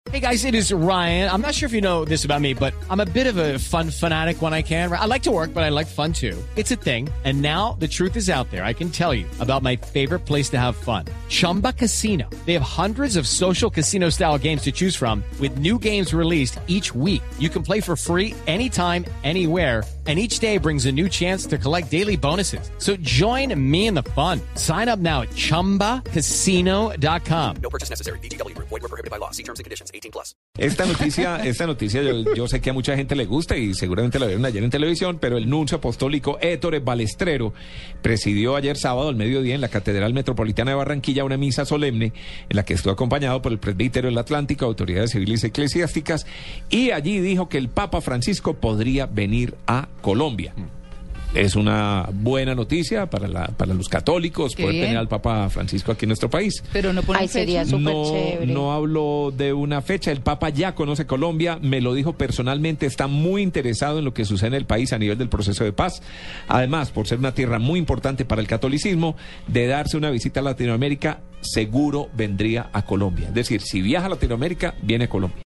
Hey guys, it is Ryan. I'm not sure if you know this about me, but I'm a bit of a fun fanatic when I can. I like to work, but I like fun too. It's a thing. And now the truth is out there. I can tell you about my favorite place to have fun. Chumba Casino. They have hundreds of social casino style games to choose from with new games released each week. You can play for free anytime, anywhere. And each day brings a new chance to collect daily bonuses. So join me in the fun. Sign up now at ChumbaCasino.com. No purchase necessary. VGW Group. Void where prohibited by law. See terms and conditions. 18+. Esta noticia yo sé que a mucha gente le gusta y seguramente la vieron ayer en televisión, pero el nuncio apostólico Ettore Balestrero presidió ayer sábado al mediodía en la Catedral Metropolitana de Barranquilla una misa solemne en la que estuvo acompañado por el presbítero del Atlántico, autoridades civiles y eclesiásticas, y allí dijo que el Papa Francisco podría venir a Colombia. Es una buena noticia para los católicos poder tener al Papa Francisco aquí en nuestro país. Pero no pone sería súper chévere. No hablo de una fecha. El Papa ya conoce Colombia, me lo dijo personalmente, está muy interesado en lo que sucede en el país a nivel del proceso de paz. Además, por ser una tierra muy importante para el catolicismo, de darse una visita a Latinoamérica, seguro vendría a Colombia. Es decir, si viaja a Latinoamérica, viene a Colombia.